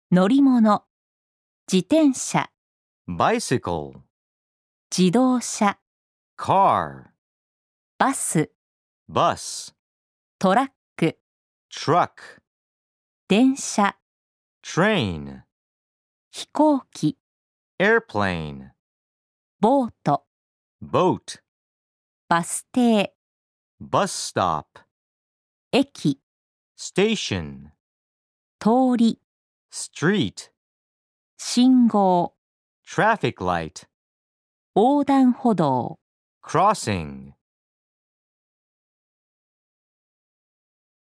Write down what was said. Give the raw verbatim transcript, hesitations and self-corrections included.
乗り物、自転車、 bicycle, 自動車、 car, バス、 bus, トラック、 truck, 電車、 train, 飛行機、 airplane, ボート、 boat, バス停、 bus stop, 駅、 station, 通り、 street, 信号、 traffic light, 横断歩道。 crossing.